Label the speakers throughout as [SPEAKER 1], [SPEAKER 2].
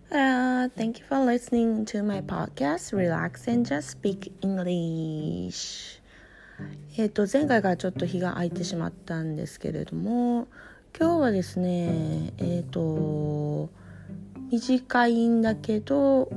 [SPEAKER 1] Hello, thank you for listening to my podcast, Relax and Just Speak English. 前回からちょっと日が空いてしまったんですけれども、今日はですね、短いんだけど、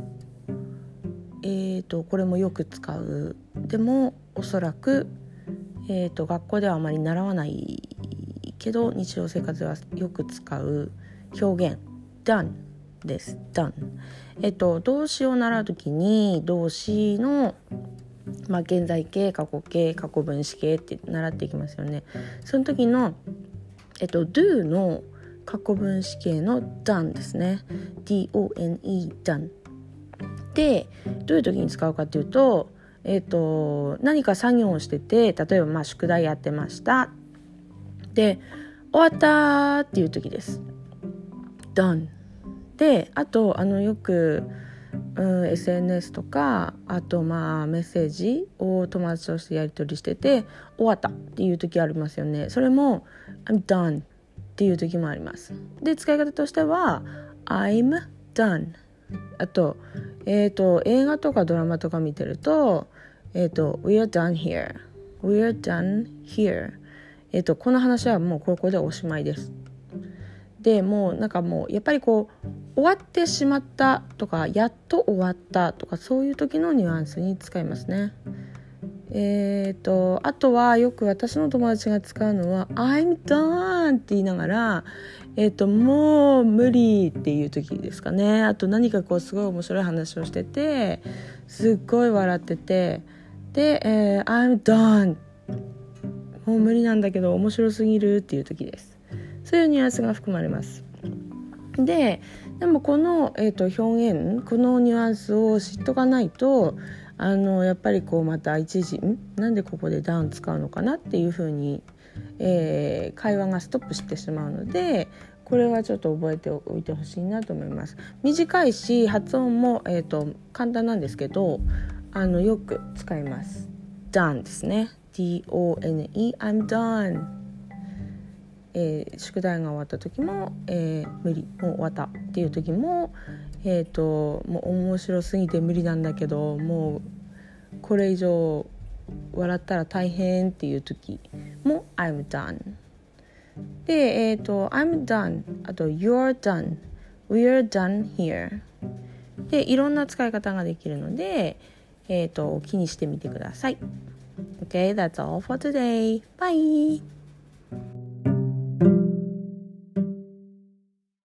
[SPEAKER 1] これもよく使う。でもおそらく、学校ではあまり習わないけど日常生活ではよく使う表現 done です。 done、動詞を習うときに動詞の、現在形、過去形、過去分詞形って習っていきますよね。その時の、do の過去分詞形の done ですね。 done done でどういう時に使うかというと、何か作業をしてて、例えば宿題やってましたで終わったっていう時です。 done で、あとよく、SNS とか、あとメッセージを友達としてやり取りしてて終わったっていう時ありますよね。それも I'm done っていう時もあります。で、使い方としては I'm done。 あと、映画とかドラマとか見てると、We're done here We're done here、この話はもうここでおしまいです。でもうやっぱり終わってしまったとか、やっと終わったとか、そういう時のニュアンスに使いますね。あとはよく私の友達が使うのは I'm done って言いながら、もう無理っていう時ですかね。あと何かすごい面白い話をしててすっごい笑ってて、で、I'm done もう無理なんだけど面白すぎるっていう時です。そういうニュアンスが含まれます。でもこの、表現、このニュアンスを知っとかないとやっぱりまた一時なんでここでダウン使うのかなっていう風に、会話がストップしてしまうので、これはちょっと覚えておいてほしいなと思います。短いし発音も、簡単なんですけどよく使います。 done ですね。 done I'm done。宿題が終わった時も、無理、もう終わったっていう時も、もう面白すぎて無理なんだけどもうこれ以上笑ったら大変っていう時も I'm done で、I'm done、 あと You're done、 We're done here でいろんな使い方ができるので、気にしてみてください。 Okay, that's all for today. Bye.